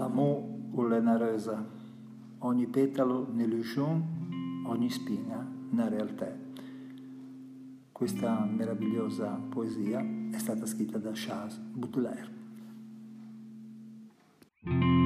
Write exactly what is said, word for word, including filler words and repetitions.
L'amour o una rosa, ogni petalo un'illusion, ogni spina una realtà. Questa meravigliosa poesia è stata scritta da Charles Baudelaire.